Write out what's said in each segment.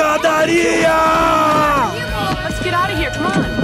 Pancadaria! Let's get out of here, come on.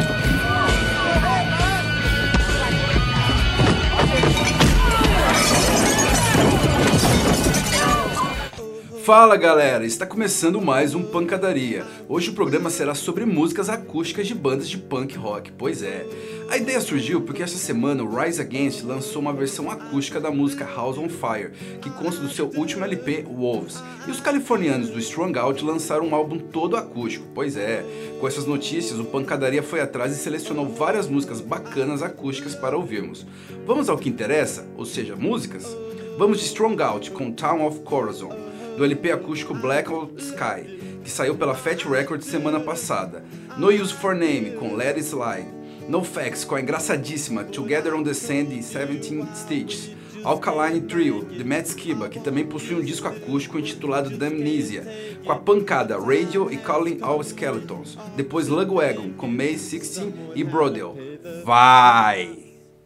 Fala galera, está começando mais um Pancadaria. Hoje o programa será sobre músicas acústicas de bandas de punk rock, pois é. A ideia surgiu porque essa semana o Rise Against lançou uma versão acústica da música House on Fire, que consta do seu último LP, Wolves. E os californianos do Strung Out lançaram um álbum todo acústico, pois é. Com essas notícias, o Pancadaria foi atrás e selecionou várias músicas bacanas acústicas para ouvirmos. Vamos ao que interessa, ou seja, músicas? Vamos de Strung Out com Town of Corazon, do LP acústico Blackout Sky, que saiu pela Fat Records semana passada. No Use for Name, com Let It Slide. No Facts, com a engraçadíssima Together on the Sand e 17 Stitches. Alkaline Trio, de Matt Skiba, que também possui um disco acústico intitulado Damnesia, com a pancada Radio e Calling All Skeletons. Depois Lugwagon, com May 16 e Brodel. Vai!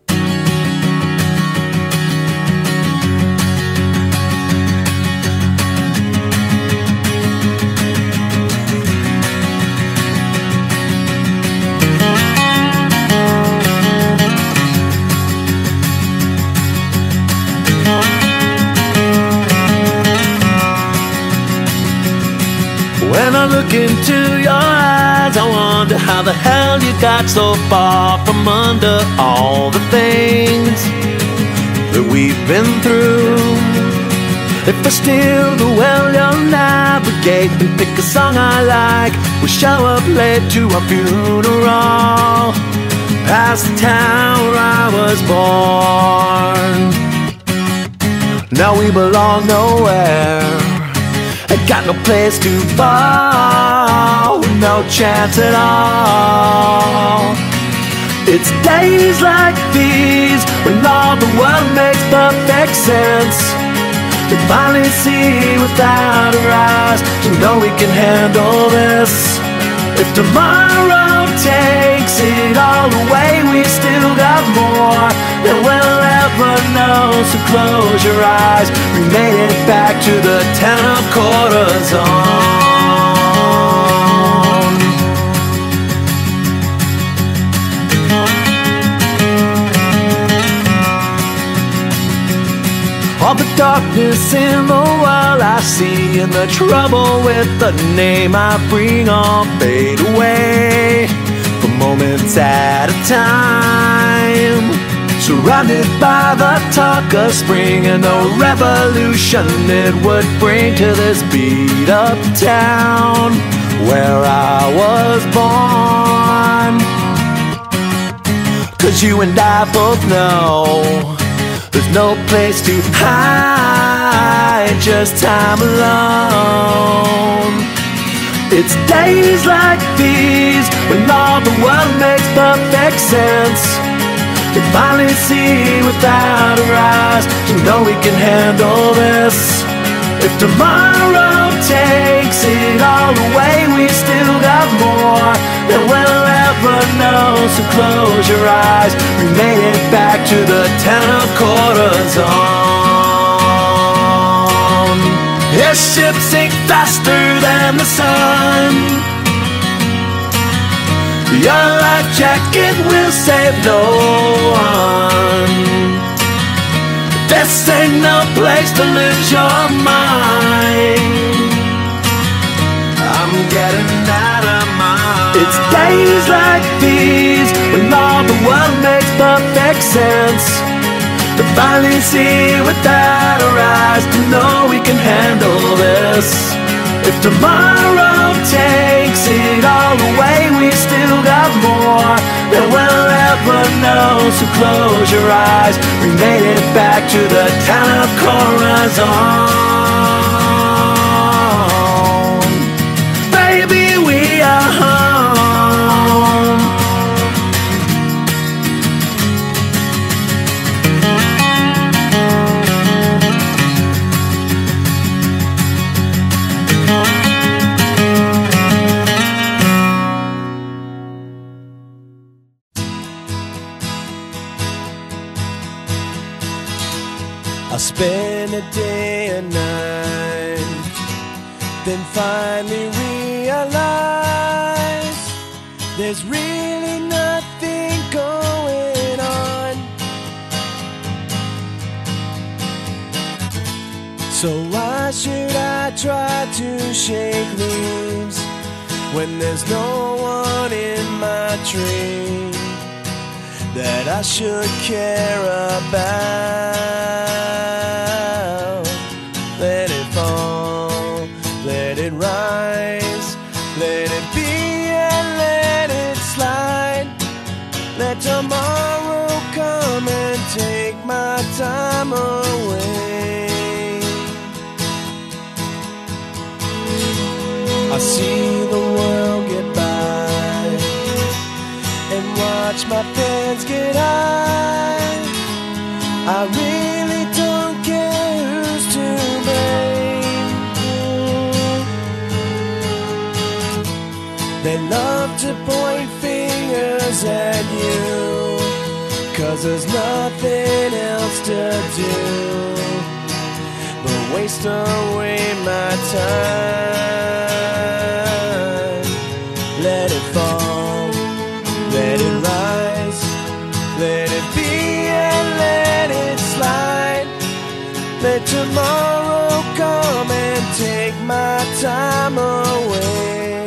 When I look into your eyes, I wonder how the hell you got so far from under all the things that we've been through. If I steal the well you'll navigate and pick a song I like, we'll show up late to our funeral, past the town where I was born. Now we belong nowhere, got no place to fall, no chance at all. It's days like these when all the world makes perfect sense. We finally see without our eyes to know we can handle this. If tomorrow takes it all away, we still got more than we'll ever know. So close your eyes, we made it back to the town of Corazon. All the darkness in the world I see, and the trouble with the name I bring all fade away for moments at a time. Surrounded by the talk of spring and the revolution it would bring to this beat up town where I was born. 'Cause you and I both know there's no place to hide, just time alone. It's days like these when all the world makes perfect sense. We finally see without our eyes to know we can handle this. If tomorrow takes it all away, we still got more than we'll ever know. So close your eyes, we made it back to the town of Corazon. This ship sinks faster than the sun. Your life jacket will save no one. This ain't no place to lose your mind. I'm getting out of mind. It's days like these when all the world makes perfect sense. To finally see without our eyes to know we can handle this. If tomorrow takes it all away, we still got more than we'll ever know. So close your eyes, we made it back to the town of Corazon. Baby, we are home. I spend a day and night, then finally realize realize there's really nothing going on. So why should I try to shake leaves when there's no one in my tree that I should care about? Let it fall, let it rise, let it be and let it slide. Let tomorrow come and take my time away. I see the world get by and watch my friends get high. I really don't care who's to blame. They love to point fingers at you, 'cause there's nothing else to do but waste away my time. Let it fall, let it rise, let it be and let it slide. Let tomorrow come and take my time away.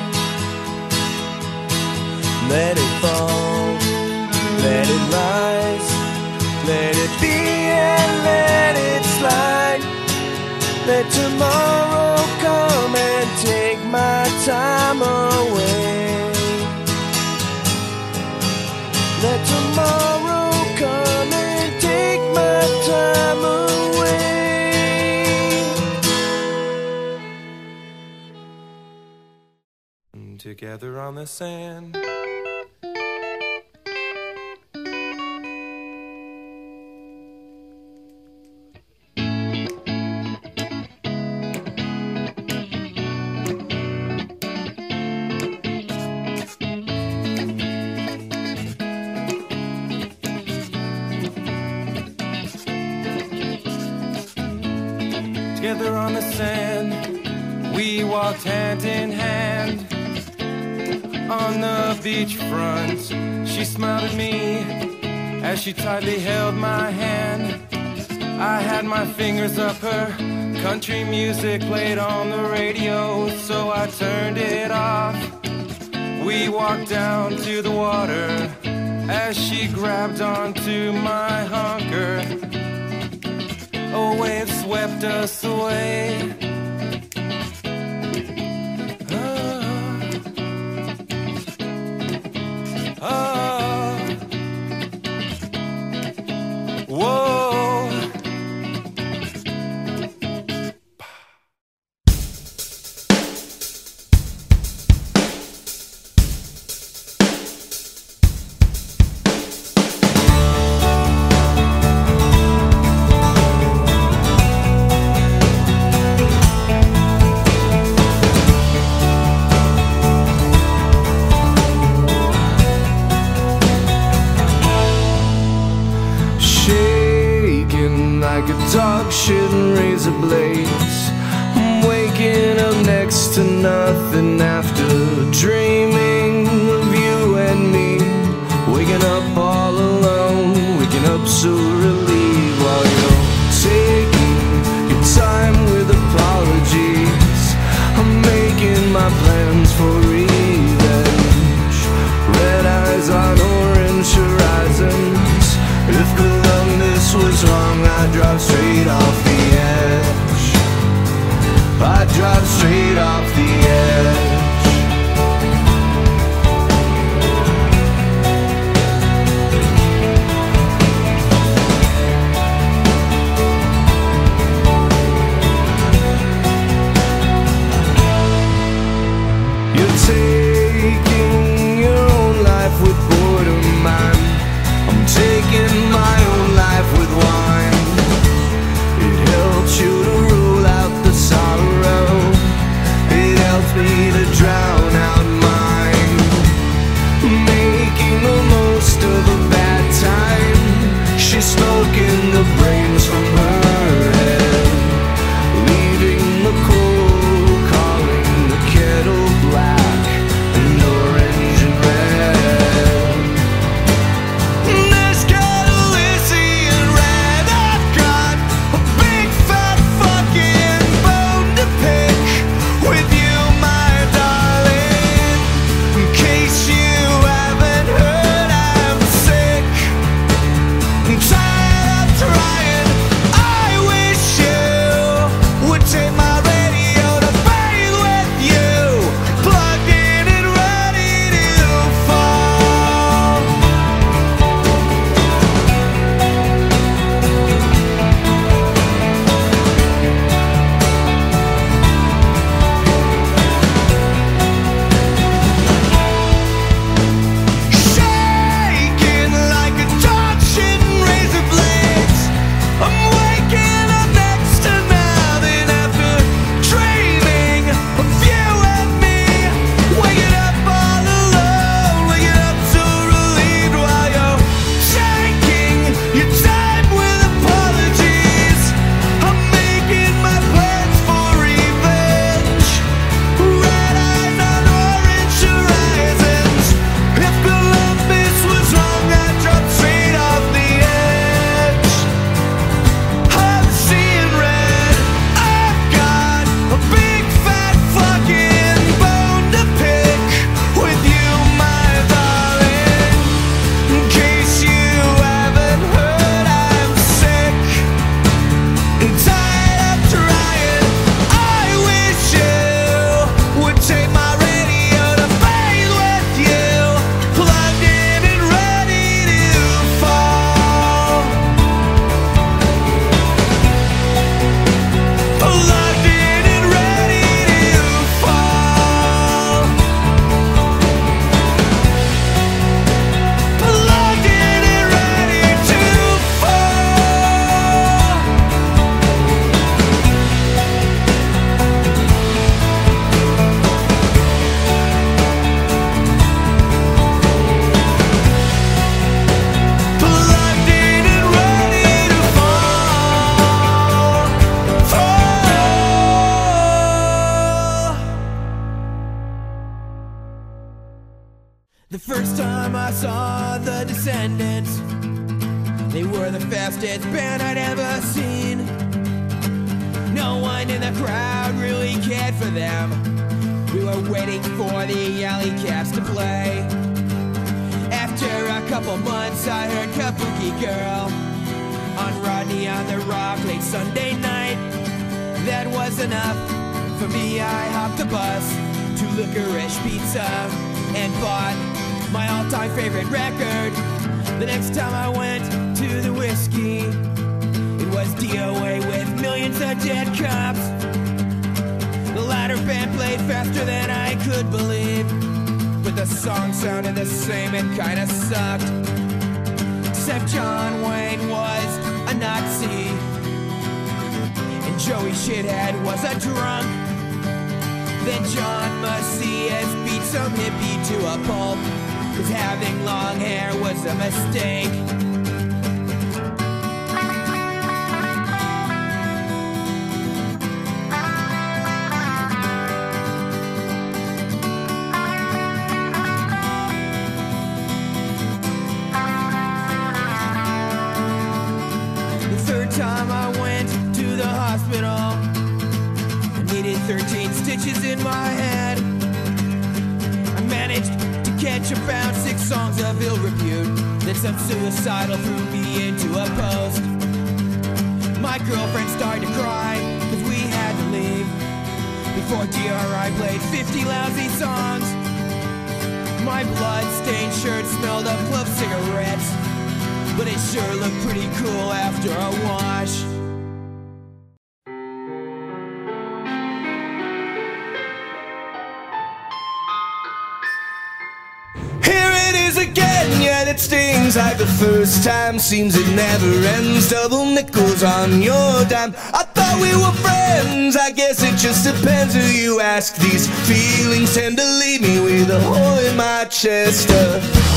Let it fall, let it rise, let it be and let it slide. Let tomorrow come and take my time away. Let tomorrow come and take my time away. Together on the sand. Together on the sand, we walked hand in hand. On the beachfront, she smiled at me as she tightly held my hand. I had my fingers up her, country music played on the radio, so I turned it off. We walked down to the water as she grabbed onto my hunker. A wave swept us away. Whoa. Like a dog shouldn't raise a blaze. I'm waking up next to nothing after dreaming of you and me. Waking up all alone, waking up so relieved while you're taking your time with apologies. I'm making my plans for revenge. Red eyes on orange horizons. If Columbus was wrong, I'd drive straight off the edge. I'd drive straight off the edge. You're taking your own life with boredom. I'm taking my own life with wine. It helps you to rule out the sorrow. The first time I saw the Descendants, they were the fastest band I'd ever seen. No one in the crowd really cared for them. We were waiting for the Alley Cats to play. After a couple months I heard Kabuki Girl on Rodney on the Rock late Sunday night. That was enough for me. I hopped the bus to Licorice Pizza and bought my all-time favorite record. The next time I went to the Whiskey, it was DOA with Millions of Dead Cops. The latter band played faster than I could believe, but the song sounded the same and kinda sucked. Except John Wayne was a Nazi and Joey Shithead was a drunk. Then John Macias beat some hippie to a pulp, 'cause having long hair was a mistake. Time I went to the hospital, I needed 13 stitches in my head. I managed to catch about 6 songs of ill repute. Then some suicidal threw me into a post. My girlfriend started to cry, 'cause we had to leave before DRI played 50 lousy songs. My blood-stained shirt smelled of club cigarettes, but it sure looked pretty cool after a wash. Here it is again, yet it stings like the first time. Seems it never ends, double nickels on your dime. I thought we were friends, I guess it just depends who you ask. These feelings tend to leave me with a hole in my chest. A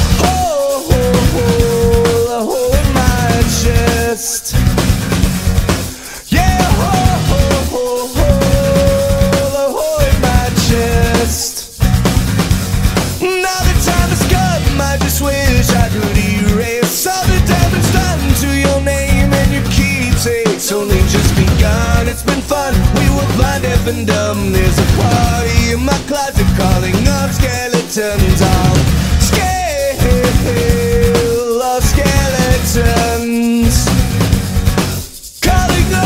hole in my chest. Yeah, a hole in my chest. Now the time has come, I just wish I could erase all the damage done to your name and your keepsakes. Only just begun, it's been fun, we were blind, deaf and dumb. There's a party in my closet calling up skeletons. All skeletons calling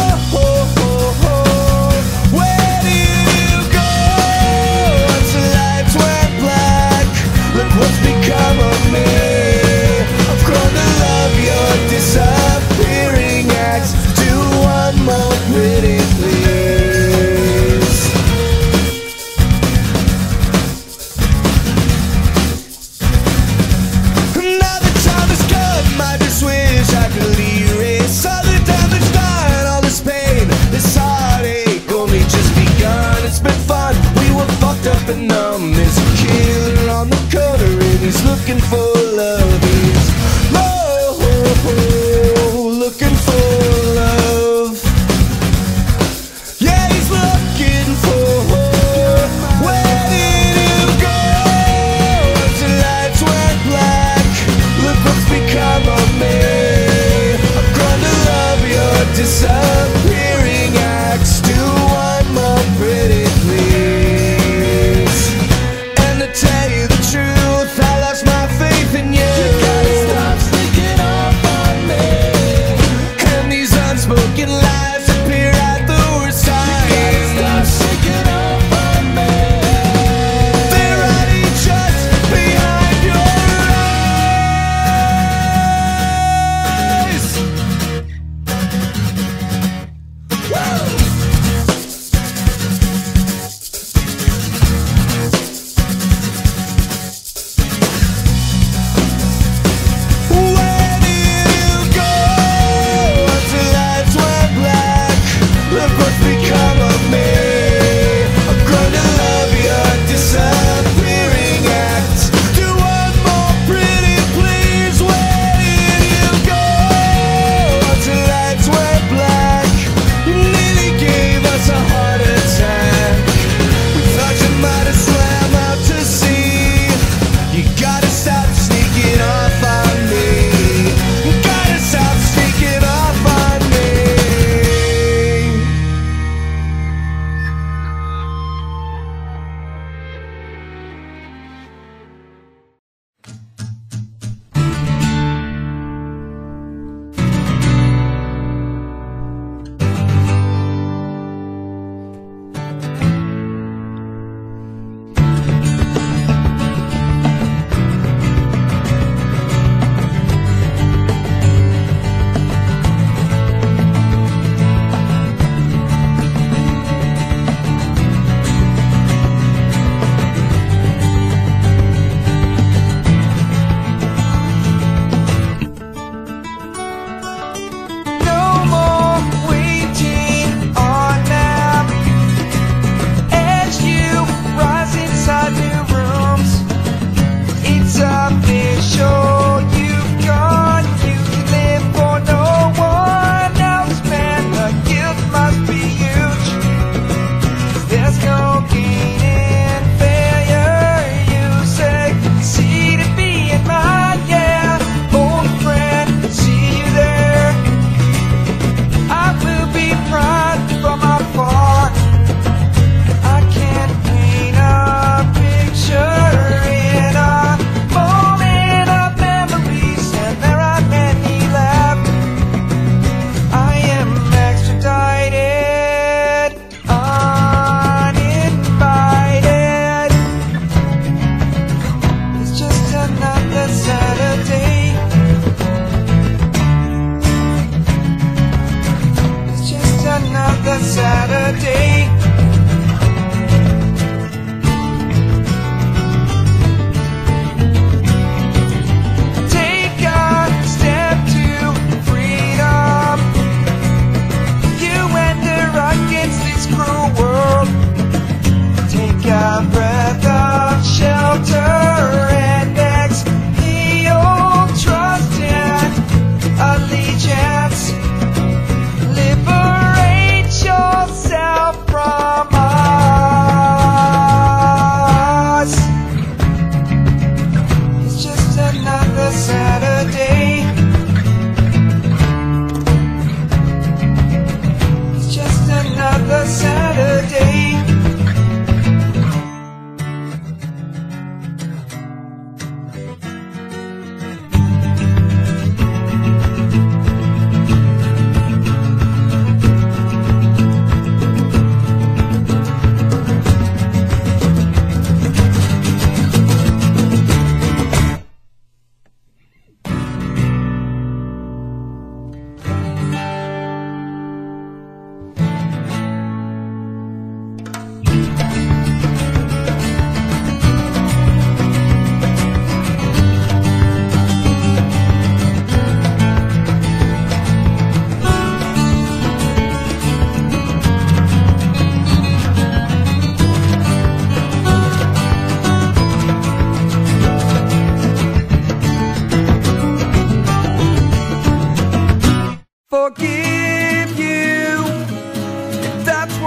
where did you go? Once the lights went black, look what's become of me. I've grown to love your disappearing acts. Do one more pretty please. Now the time has come, I just wish I could erase all the damage done, all this pain, this heartache. Only just begun, it's been fun, we were fucked up and numb. There's a killer on the corner and he's looking for love. He's looking for love. Yeah, he's looking for where did you go? Once the lights went black, look what's become of me. I've grown to love your disappearing acts. Do one more pretty please. And to tell you the truth, I lost my faith in you. You gotta stop sneaking up on me. And these unspoken lies appear at the worst time. You gotta stop sneaking up on me. They're hiding just behind your eyes. Woo! Where did you go? Once the lights went black, look what's become of me. I've grown to love your disappearing acts. Do one more pretty please. Where did you go? Once the lights went black, you nearly gave us a heart attack. We thought you might have swam out to sea. You gotta stop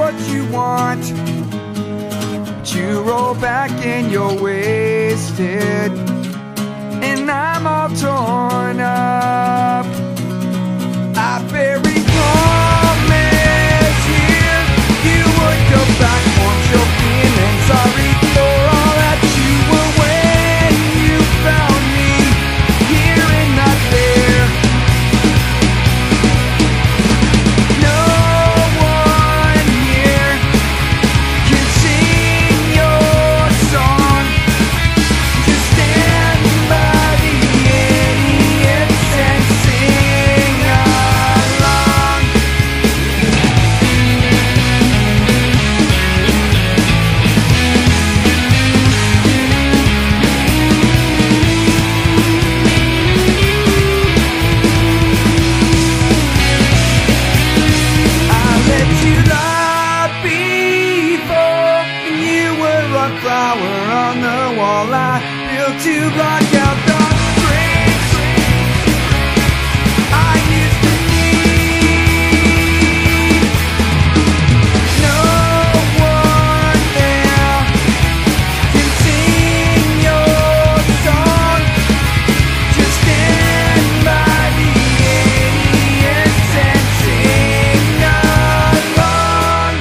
what you want. But you roll back and you're wasted, and I'm all torn up. I very promise you would go back once you're feeling sorry for all that you were when you found me here and not there. No one here can sing your song. Just stand by the idiots and sing along. I let you lie before you were a flower on the wall. I built to block out the breaks I used to need. No one there can sing your song. Just stand by the idiots and sing along.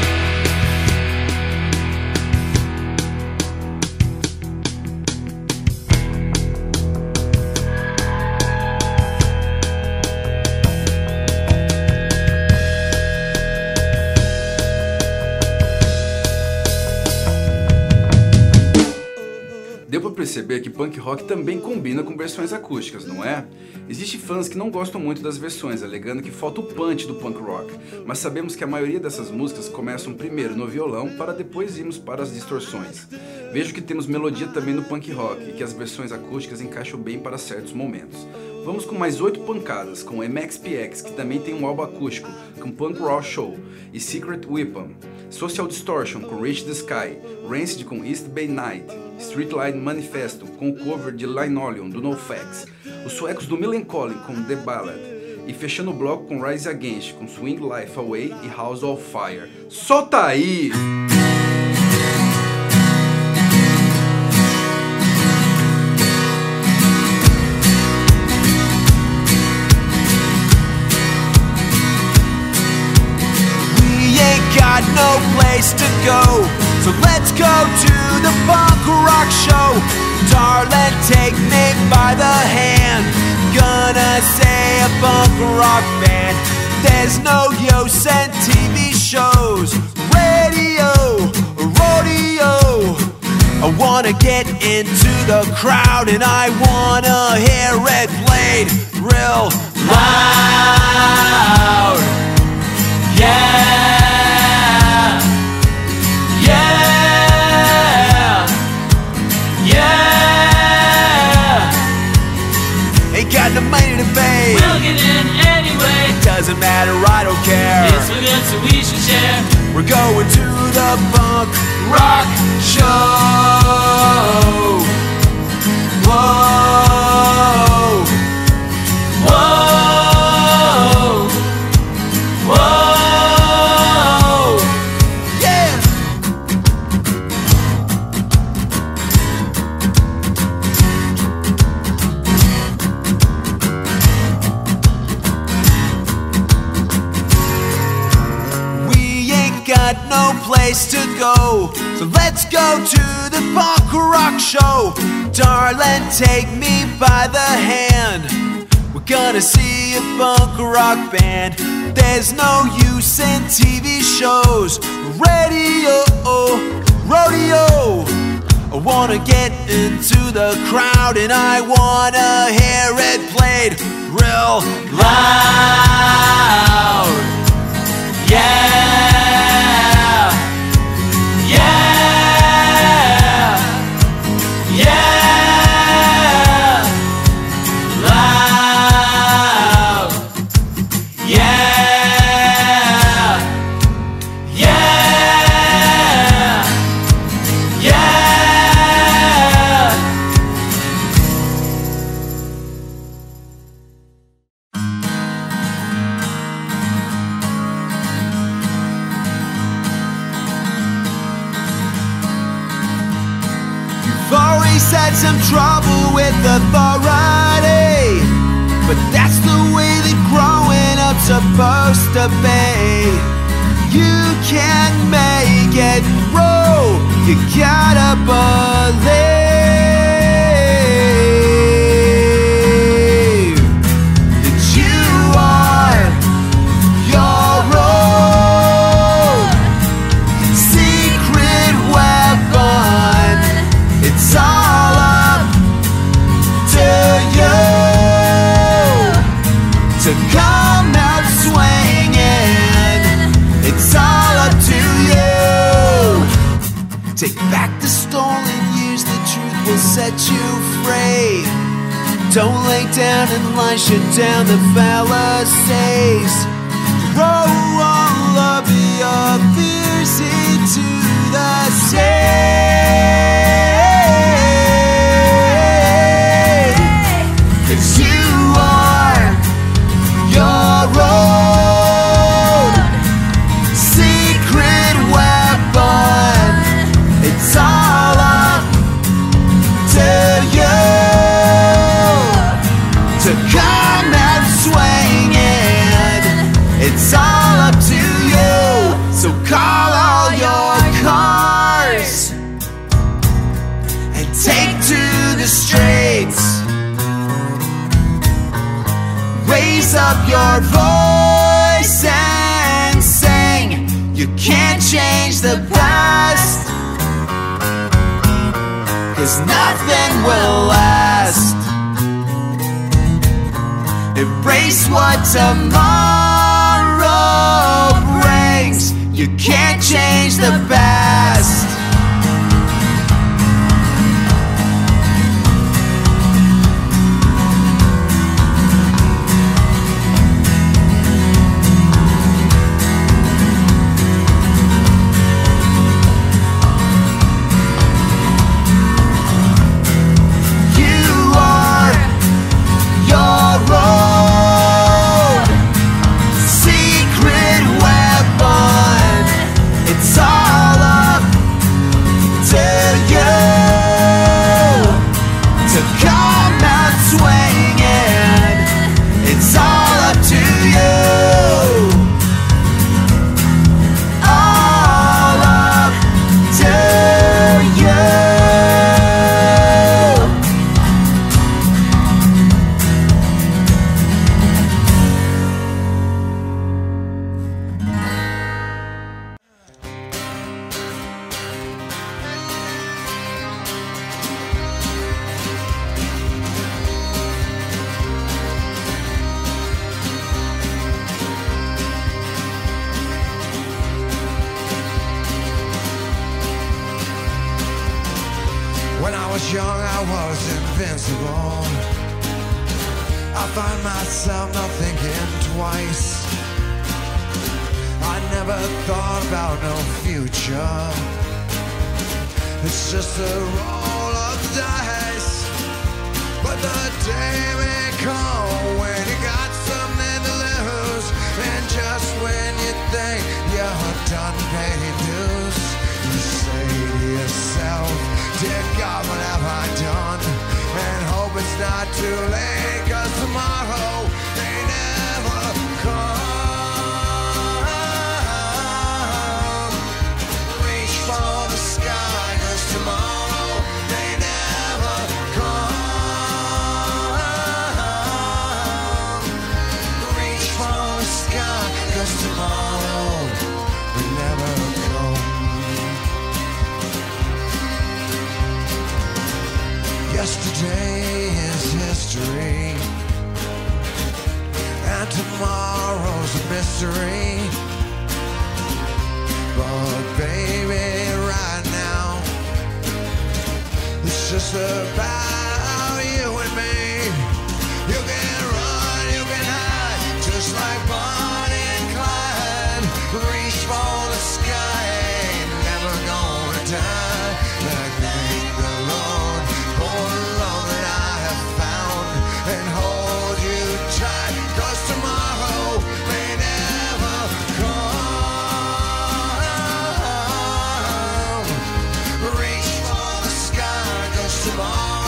Deu pra perceber que punk rock também combina com versões acústicas, não é? Existem fãs que não gostam muito das versões, alegando que falta o punch do punk rock, mas sabemos que a maioria dessas músicas começam primeiro no violão para depois irmos para as distorções. Vejo que temos melodia também no punk rock e que as versões acústicas encaixam bem para certos momentos. Vamos com mais 8 pancadas, com MXPX, que também tem um álbum acústico, com Punk Raw Show, e Secret Weapon, Social Distortion, com Reach the Sky, Rancid com East Bay Night, Streetlight Manifesto, com o cover de Linoleum, do NoFX, os suecos do Millencolin, com The Ballad, e fechando o bloco com Rise Against, com Swing Life Away e House of Fire. Solta aí! Got no place to go, so let's go to the punk rock show. Darling, take me by the hand. Gonna say a punk rock band. There's no use in TV shows, radio, rodeo. I wanna get into the crowd and I wanna hear it played real loud. Yeah. Got no money to pay. We'll get in anyway. Doesn't matter, I don't care. It's so good, so we should share. We're going to the punk rock show. Whoa, whoa, whoa, yeah. Got no place to go, so let's go to the punk rock show. Darling, take me by the hand. We're gonna see a punk rock band. There's no use in TV shows, radio, rodeo. I wanna get into the crowd and I wanna hear it played real loud. Yeah. had some trouble with authority, but that's the way that growing up's supposed to be. You can't make it through, you gotta believe that you are your own secret weapon. It's all up to you to come out swinging. It's all up to you. Take back the stolen years, the truth will set you free. Don't lay down and lie, shut down the fallacies. Throw all of your fears into the sea. 'Cause you are your own secret weapon. It's all up to you to come out swinging. It's all up to you. So call all your cars and take to the streets. Raise up your voice and sing. You can't change the past, 'cause nothing will last. Embrace what tomorrow brings. You can't change the past. When I was young, I was invincible. I find myself not thinking twice. I never thought about no future. It's just a roll of the dice. But the day may come when you got something to lose, and just when you think you're done paying dues, you say to yourself, dear God, what have I done? And hope it's not too late, 'cause tomorrow may never come. Reach for the sky, 'cause tomorrow may never come. Reach for the sky, 'cause tomorrow may never come. Yesterday is history, and tomorrow's a mystery. But baby, right now, it's just about you and me. You can run, you can hide, just like Bonnie and Clyde. Reach for the sky, ain't never gonna die. Like thank the Lord for the love that I have found, and hold you tight, 'cause tomorrow may never come. Reach for the sky, 'cause tomorrow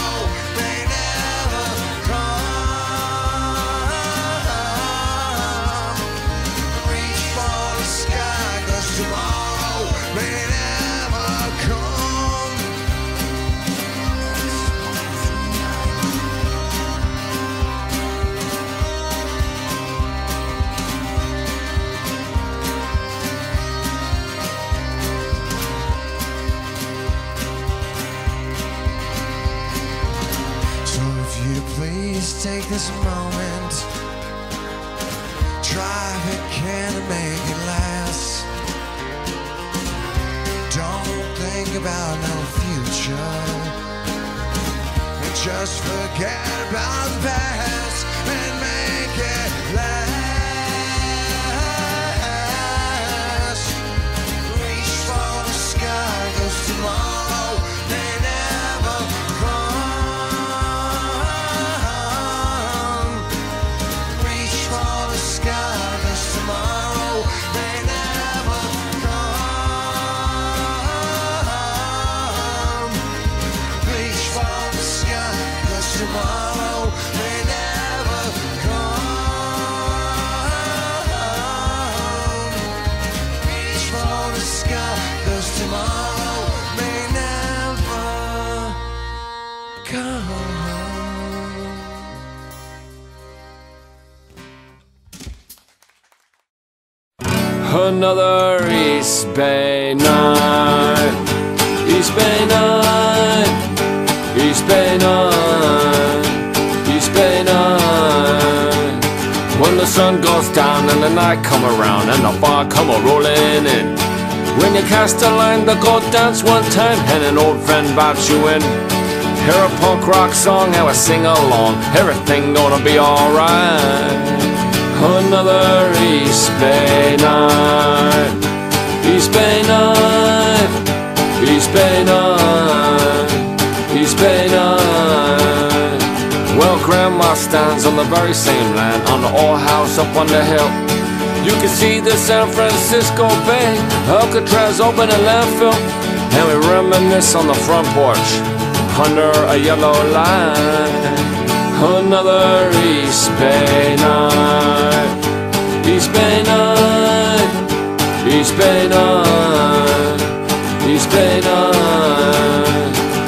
take this moment. Drive it, can it make it last? Don't think about no future. And just forget about the past and make it last. Reach for the sky, 'cause tomorrow may never come. Reach for the sky, 'cause tomorrow may never come. Reach for the sky, 'cause tomorrow may never come. Reach for the sky, 'cause tomorrow may never come. Another East Bay night, East Bay night, East Bay night, East Bay night. When the sun goes down and the night come around and the bar come a-rolling in. When you cast a line to go dance one time and an old friend bops you in. Hear a punk rock song and we sing along, everything gonna be alright. Another East Bay night, East Bay night, East Bay night, East Bay night. Well, Grandma stands on the very same land, on the old house up on the hill. You can see the San Francisco Bay, Alcatraz open a landfill, and we reminisce on the front porch under a yellow line. Another East Bay night, East Bay night, East Bay night, East Bay night.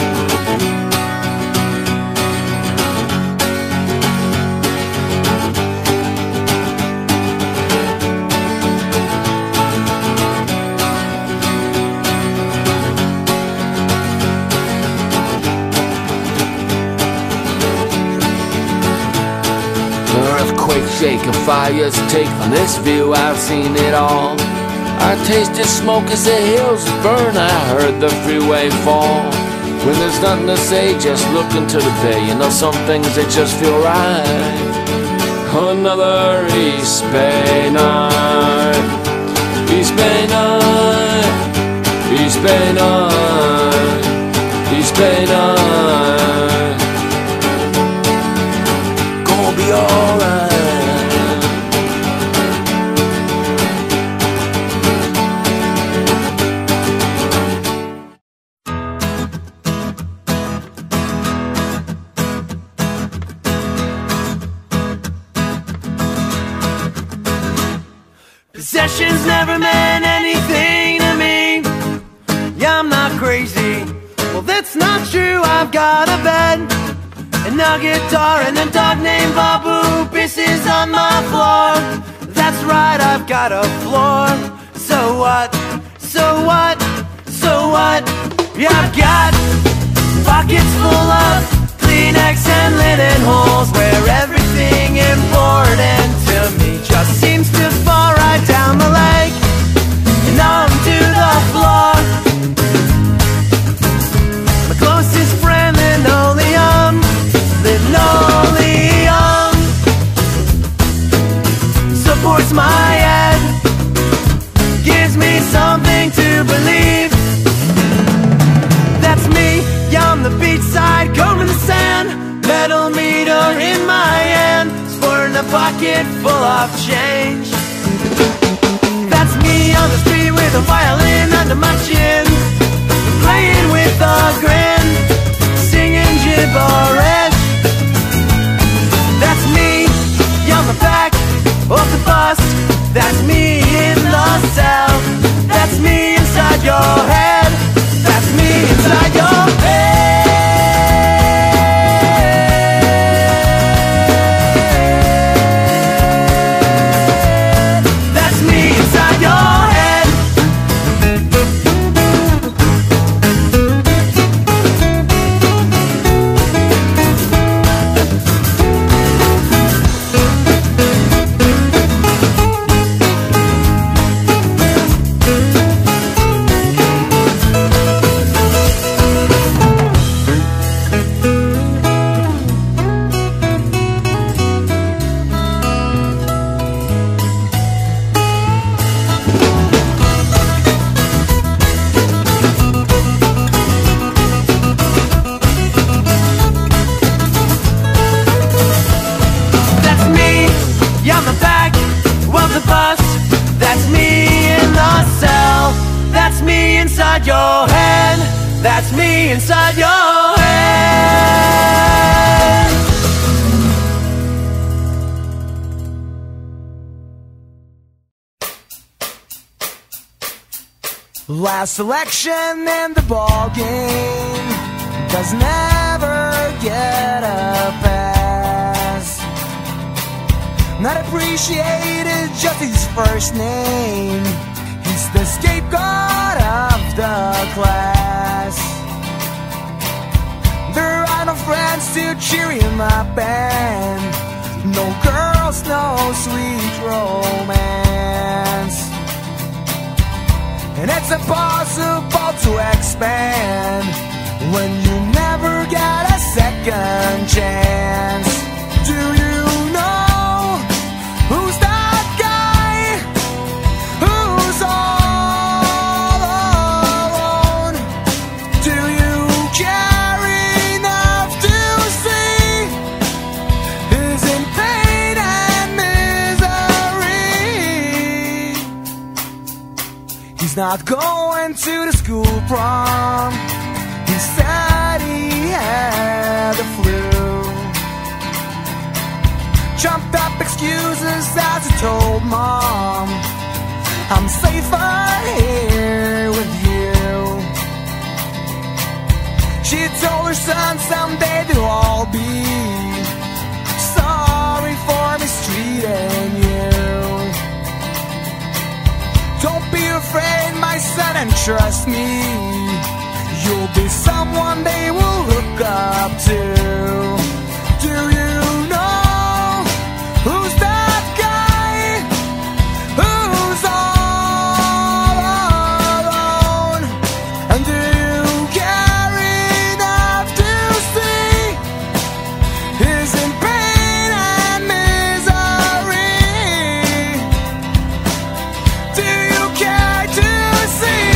Shake and fires take from this view, I've seen it all. I tasted smoke as the hills burn, I heard the freeway fall. When there's nothing to say, just look into the bay. You know some things, they just feel right. Another East Bay night, East Bay night, East Bay night, East Bay night. Gonna be alright. Possessions never meant anything to me. Yeah, I'm not crazy. Well, that's not true. I've got a bed and a guitar and a dog named Babu pisses on my floor. That's right, I've got a floor. So what? So what? So what? Yeah, I've got pockets full of Kleenex and linen holes where everything important to me just seems to fall right down the leg and onto the floor. My closest friend, linoleum, linoleum, supports my head, gives me something to believe. That's me, yeah, on the beachside, combing the sand, metal meter in my hand, sporting a pocket full of change. That's me on the street with a violin under my chin, playing with a grin, singing gibberish. That's me on the back of the bus. That's me in the cell. That's me inside your head. That's me inside your head. That's me inside your head. inside your head. That's me inside your head. Last election in the ball game does never get a pass. Not appreciated, just his first name. He's the scapegoat of the class. There are no friends to cheer him up, and no girls, no sweet romance. And it's impossible to expand when you never get a second chance. Do you know who's that guy who's all alone? Do you care enough to see he's in pain and misery? He's not going to the school prom. He said he had the flu. Trumped up excuses as he told mom, I'm safer here with you. She told her son someday they'll all be sorry for mistreating you. Don't be afraid, my son, and trust me, you'll be someone they will look up to. Do you know who's that guy who's all alone? And do you care enough to see he's in pain and misery? Do you care to see?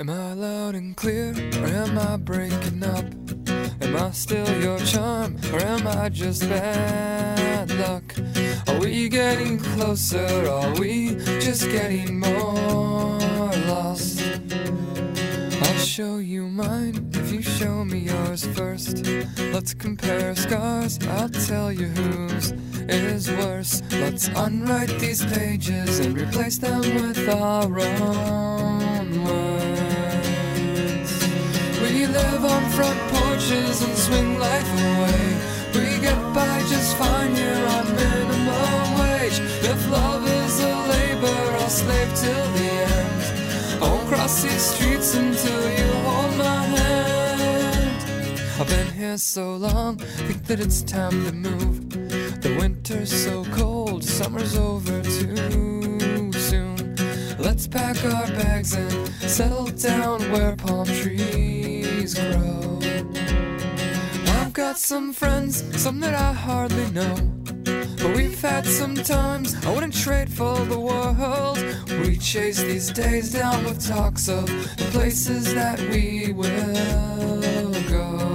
Am I loud and clear, or am I breaking up? Am I still your charm, or am I just bad luck? Are we getting closer, are we just getting more lost? I'll show you mine if you show me yours first. Let's compare scars, I'll tell you whose is worse. Let's unwrite these pages and replace them with our own words. We live on front porches and swing life away. We get by just fine here on minimum wage. If love is a labor, I'll slave till the end. I won't cross these streets until you hold my hand. I've been here so long, think that it's time to move. The winter's so cold, summer's over too soon. Let's pack our bags and settle down where palm trees grow. I've got some friends, some that I hardly know, but we've had some times I wouldn't trade for the world. We chase these days down with talks of the places that we will go.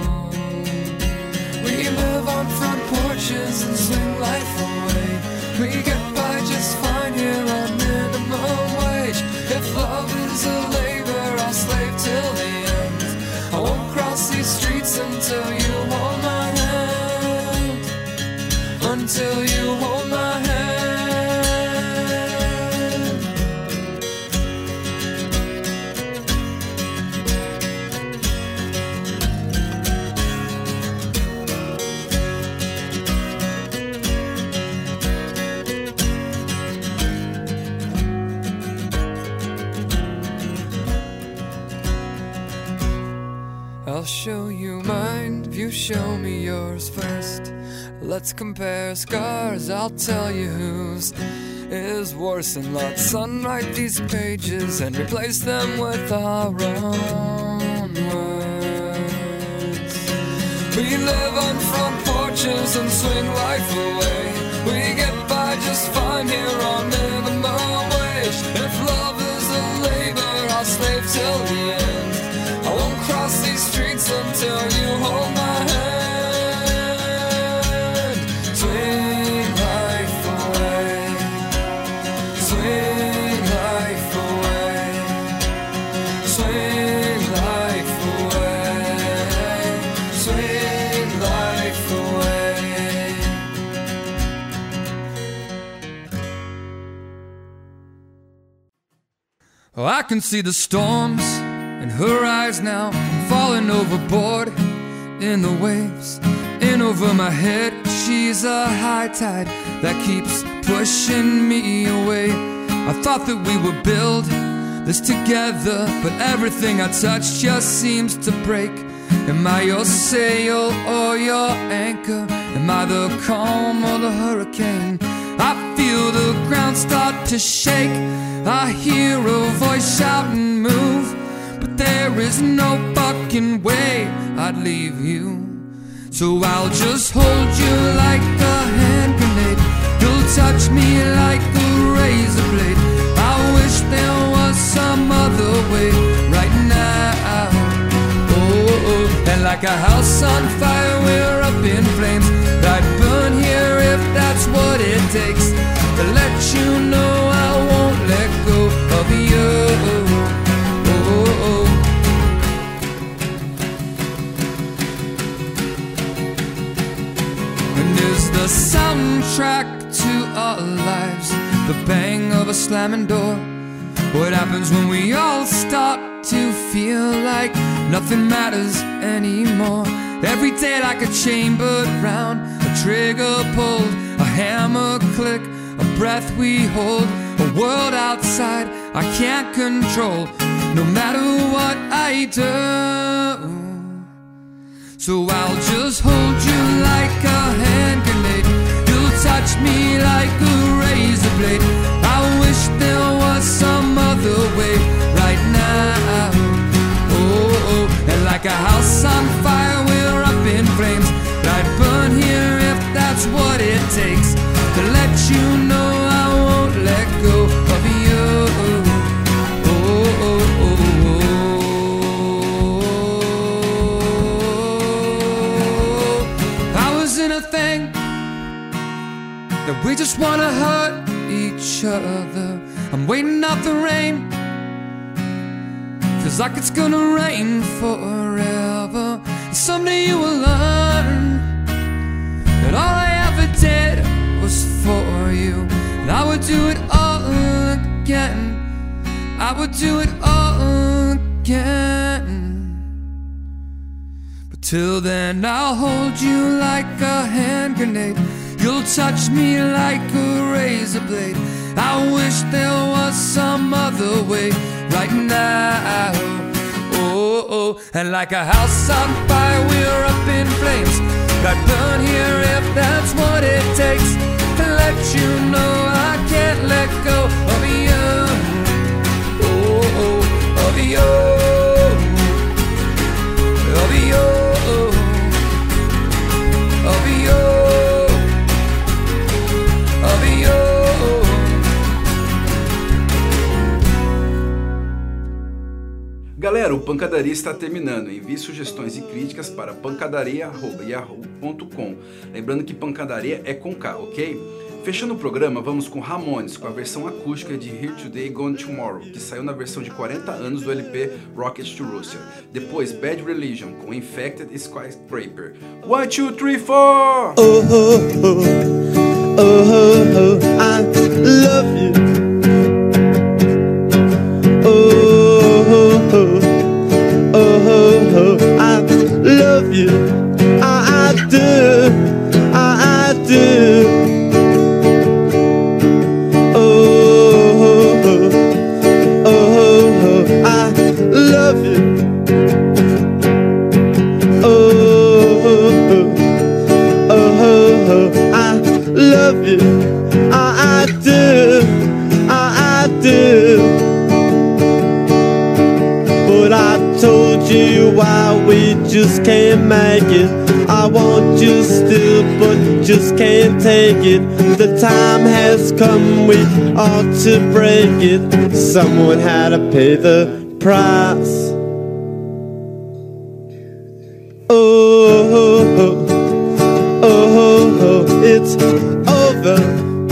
We live on front porches and swing life away. We get by just fine here on minimum wage. If love is a labor, I'll slave till the end. I won't cross these streets until you hold my hand. Until you hold my hand. I'll show you mine if you show me yours first. Let's compare scars, I'll tell you whose is worse. And let's unwrite these pages and replace them with our own words. We live on front porches and swing life away. We get by just fine here on minimum wage. If love is a labor, I'll slave till the end. I won't cross these streets until you hold my hand. Swing life away. Swing life away. Swing life away. Swing life away. Oh, I can see the storms in her eyes now, falling overboard in the waves. In over my head, she's a high tide that keeps pushing me away. I thought that we would build this together, but everything I touch just seems to break. Am I your sail or your anchor? Am I the calm or the hurricane? I feel the ground start to shake. I hear a voice shout and move, but there is no fucking way I'd leave you. So I'll just hold you like a hand grenade. You'll touch me like a razor blade. I wish there was some other way right now. Oh, and like a house on fire, we're up in flames. I'd burn here if that's what it takes to let you know I won't let go of you. The soundtrack to our lives, the bang of a slamming door. What happens when we all start to feel like nothing matters anymore? Every day like a chambered round, a trigger pulled, a hammer click, a breath we hold, a world outside I can't control, no matter what I do. So I'll just hold you like a hand grenade. You'll touch me like a razor blade. I wish there was some other way right now. Oh, and like a house on fire, we're up in flames. I'd burn here if that's what it takes to let you know I won't let go of you. Oh, oh, oh, oh. that we just wanna hurt each other. I'm waiting out the rain, feels like it's gonna rain forever. And someday you will learn that all I ever did was for you, and I would do it all again. I would do it all again. But till then I'll hold you like a hand grenade. You'll touch me like a razor blade. I wish there was some other way right now. Oh, oh. And like a house on fire, we're up in flames. Got burn here if that's what it takes to let you know I can't let go of you. Oh, oh, of you, of you, of you, of you. Galera, o Pancadaria está terminando. Envie sugestões e críticas para pancadaria@yahoo.com. Lembrando que pancadaria é com K, ok? Fechando o programa, vamos com Ramones, com a versão acústica de Here Today, Gone Tomorrow, que saiu na versão de 40 anos do LP Rocket to Russia. Depois, Bad Religion, com Infected Skyscraper. 1, 2, 3, 4! Oh, oh, oh, oh, oh, I love you. Oh, oh, oh, oh, oh, I love you. I do, I do. Why we just can't make it. I want you still, but just can't take it. The time has come, we ought to break it. Someone had to pay the price. Oh, oh, oh, oh, oh, it's over.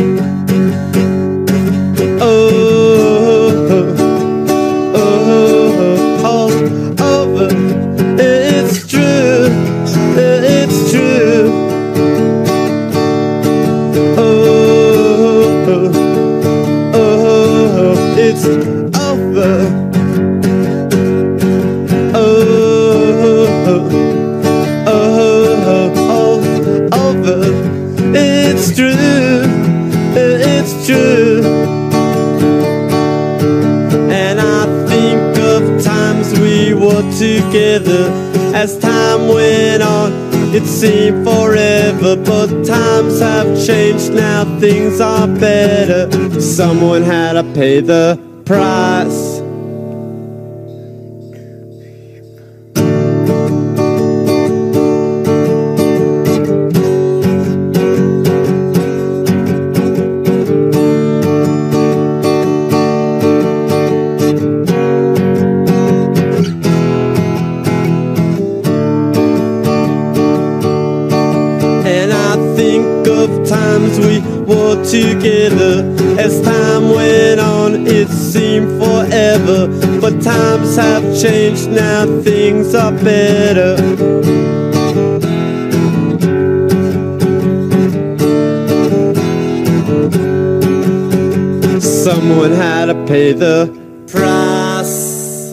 Together as time went on, it seemed forever, but times have changed, now things are better. Someone had to pay the price. Together as time went on, it seemed forever, but times have changed, now things are better. Someone had to pay the price.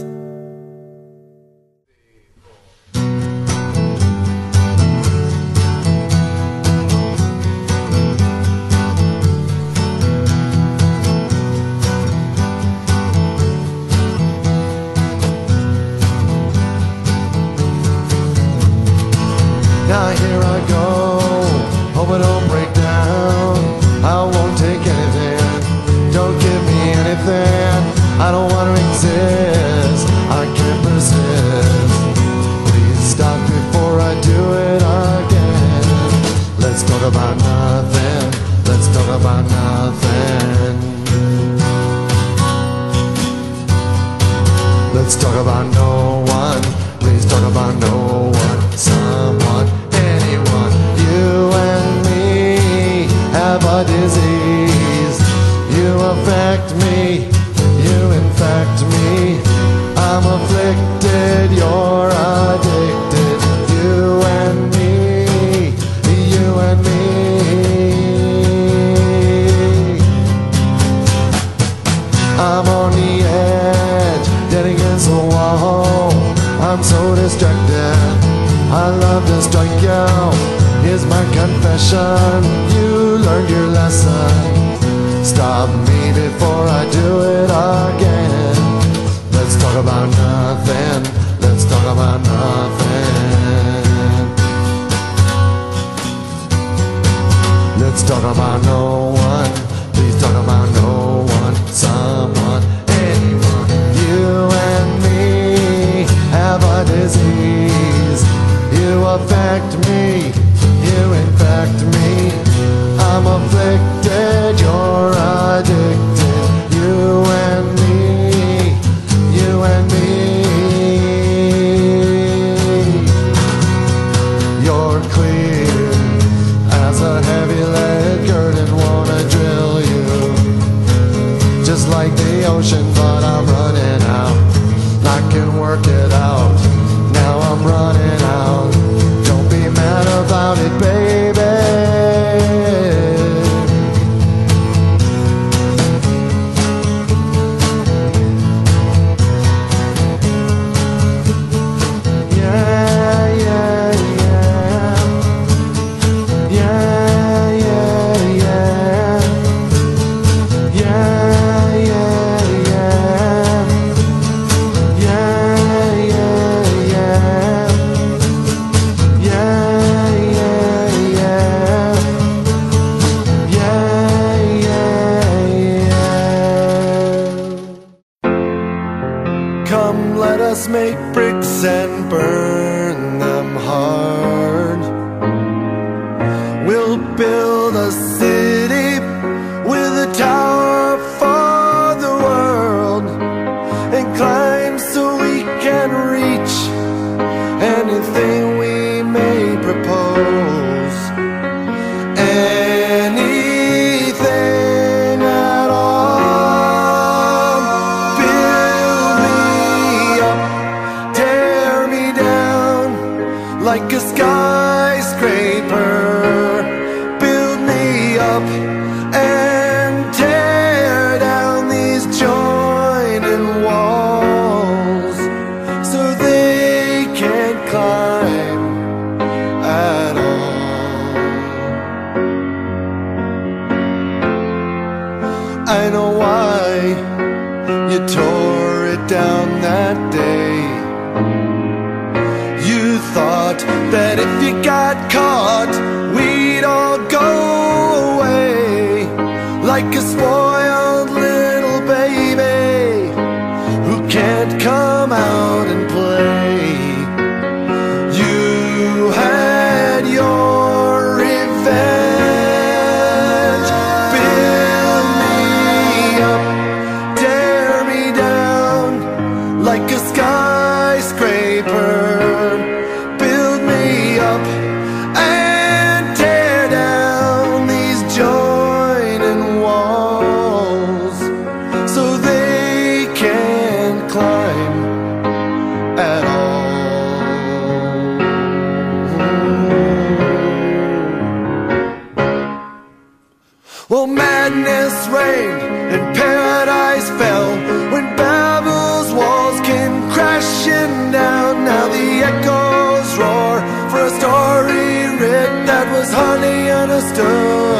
Now here I go, hope I don't break down. I won't take anything, don't give me anything. I don't want to exist, I can't persist. Please stop before I do it again. Let's talk about nothing, let's talk about nothing. Let's talk about no one, please talk about no one. Someone, anyone, you and me. a disease. You affect me, you infect me. I'm afflicted, you're addicted. You and me, you and me. I'm on the edge, dead against the wall. I'm so distracted, I love to strike you. Here's my confession, you learned your lesson. Stop me before I do it again. Let's talk about nothing, let's talk about nothing. Let's talk about no one, please talk about no one. Someone, anyone. You and me have a disease. You affect me, you infect me. I'm afflicted, you're addicted. You and me, you and me. You're clear as a heavy lead curtain, wanna drill you just like the ocean, but I'm running out. I can work it out, now I'm running out. Don't be mad about it, baby. Come, let us make bricks and burn them hard. We'll build a city with a tower for the world, and climb so we can reach anything we may propose. Anything at all. Build me up, tear me down like a skyscraper. Build me up and tear down these joining walls so they can't climb at all. I know why you tore it down that day. You thought that if you got caught, we'd all go away like a spoiled little baby who can't come out and play. You had your revenge. Build me up, tear me down like a skyscraper. Build me up and tear down these joining walls so they can't climb at all. Well, madness reigned and paradise fell when Babel's walls came crashing down. Now the echoes roar for a story writ that was hardly understood.